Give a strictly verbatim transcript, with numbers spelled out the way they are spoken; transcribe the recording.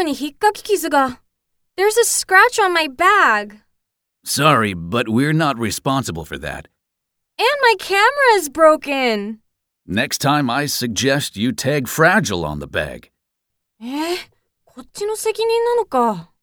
に引っかき傷が。There's a scratch on my bag. Sorry, but we're not responsible for that. And my camera is broken. Next time I suggest you tag Fragile on the bag. えー、こっちの責任なのか。